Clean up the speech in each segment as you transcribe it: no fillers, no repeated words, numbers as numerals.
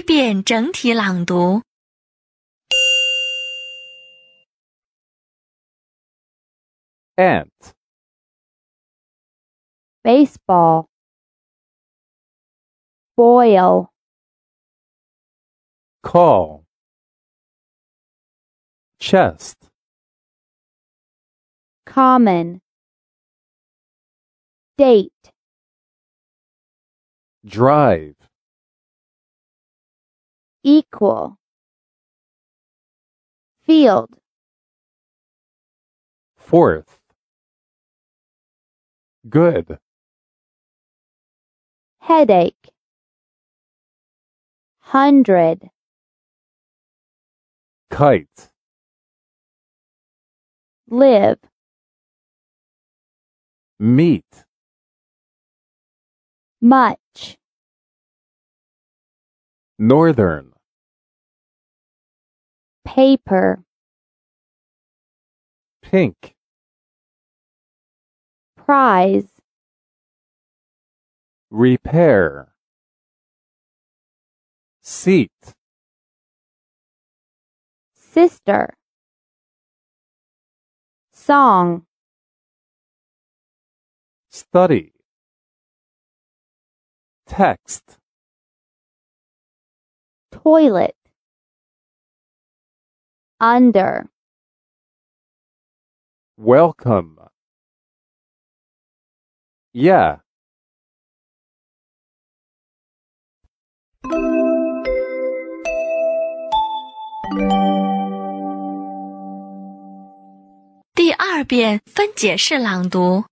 遍整体朗读。 Ant, baseball, boil, call, chest, common, date, drive, equal, field, fourth, good, headache, 100, kite, live, meet, much, northern, paper, pink, prize, repair, seat, sister, song, study, text, toilet, under, welcome, yeah. 第2遍分解式朗读。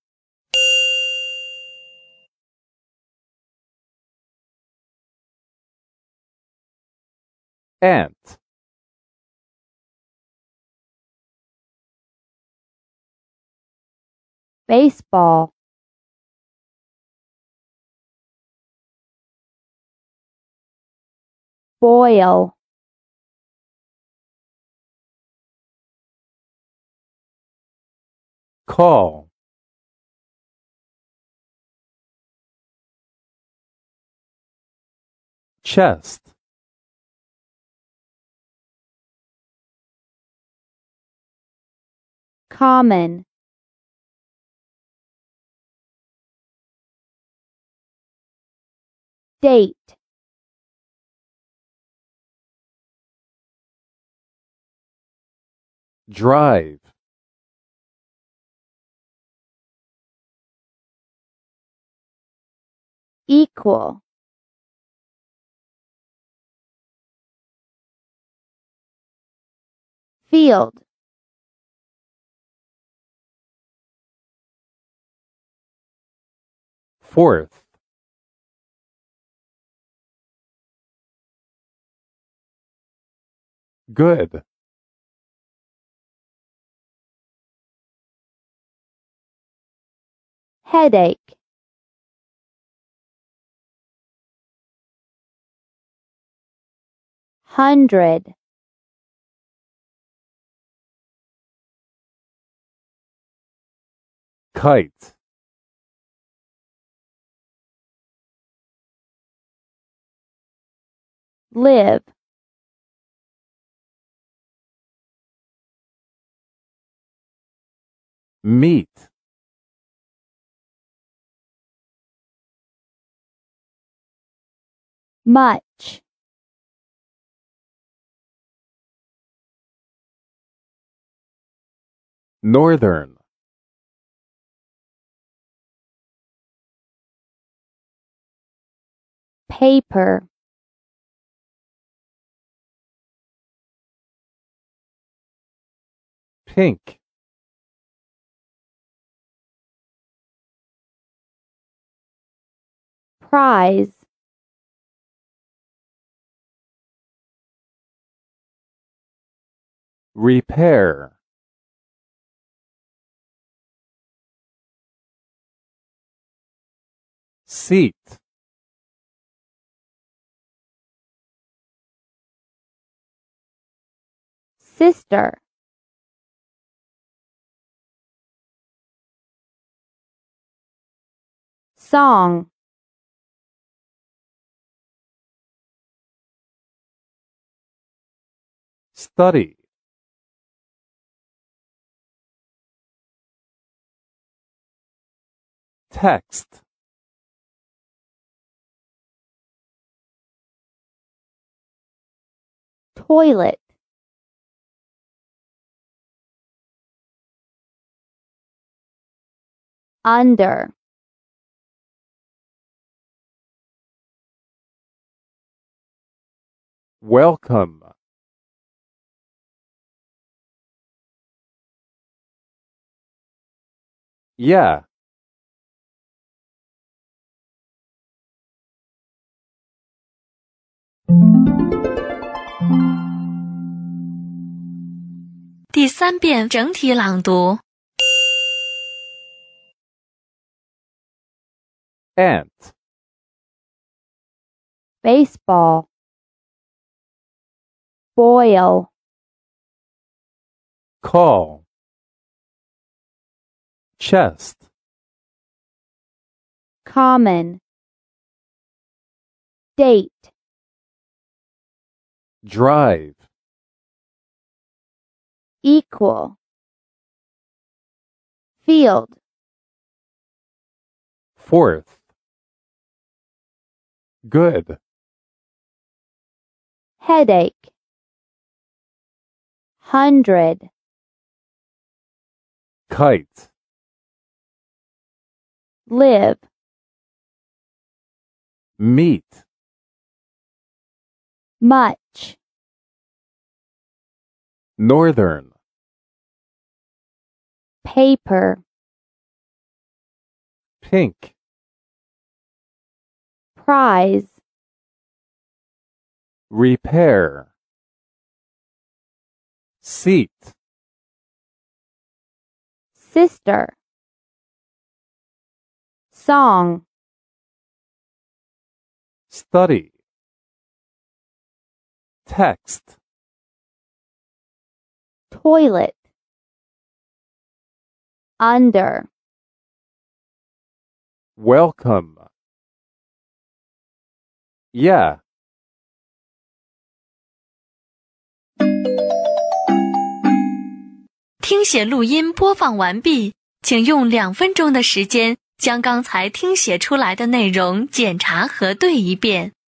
Ant, baseball, boil, call, chest, common, date, drive, equal, field, fourth, good, headache, hundred, kite, live, meet, much, northern, paper, pink, prize, repair, seat, sister, song, study, text, toilet, under, welcome, yeah, 第3遍整体朗读。 ant, baseball, boil, call, chest, common, date, drive, equal, field, fourth, good, headache, 100, kite, live, meet, much, northern, paper, pink, prize, repair, seat, sister, song, study, text, toilet, under, welcome, yeah. 听写录音播放完毕，请用2分钟的时间将刚才听写出来的内容检查核对一遍。